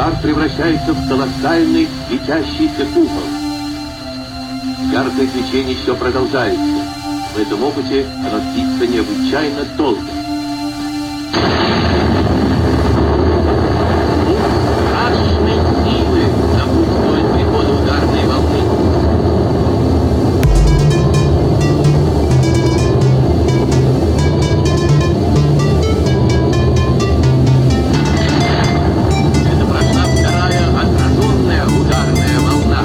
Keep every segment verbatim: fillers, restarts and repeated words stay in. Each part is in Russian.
Шар превращается в колоссальный светящийся купол. Яркое свечение еще продолжается. В этом опыте оно длится необычайно долго. Страшной силы напутствует приходу ударной волны. Это прошла вторая отраженная ударная волна.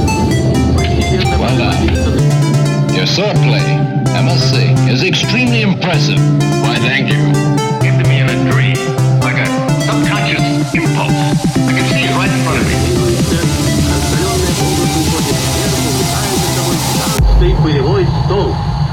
Well done. Your swordplay, I must say, is extremely impressive. Why, thank you. Came to me in a dream, like a subconscious impulse. I can see it right in front of me. Раскаленная область уходит сверху, вытает за собой гигантский пылевой столб.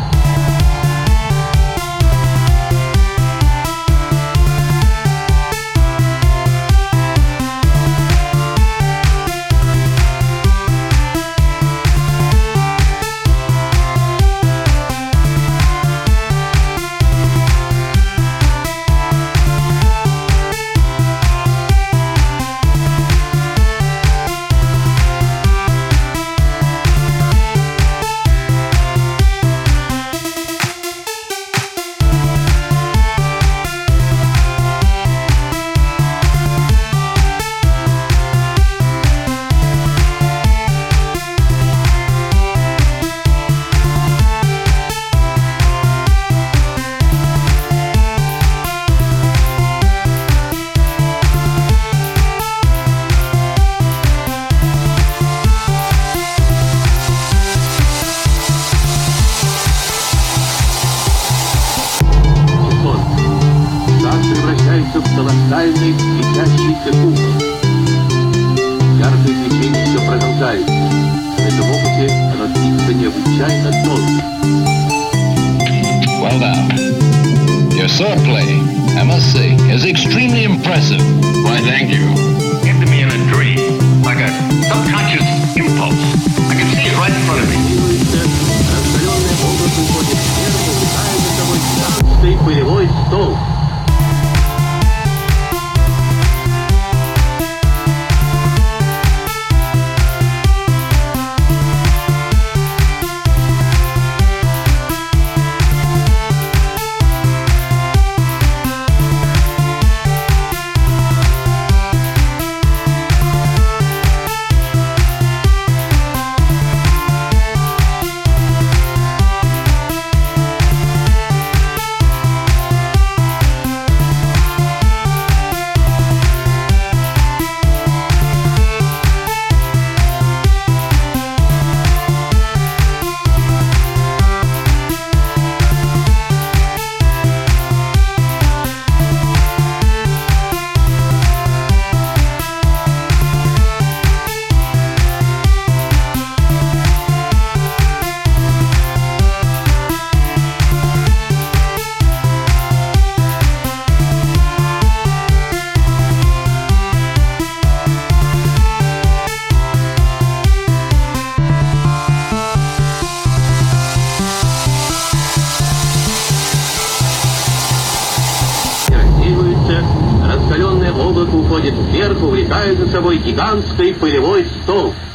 Превращается в колоссальный светящийся купол. Яркое свечение еще продолжается. В этом опыте оно длится необычайно долго. Well done. Your swordplay, I must say, is extremely impressive. Why, thank you. Came to me in a dream, like a subconscious impulse. I can see it right in front of me. Раскаленная область уходит сверху, вытает за собой гигантский пылевой столб. Раскаленное облако уходит вверх, увлекая за собой гигантский пылевой столб.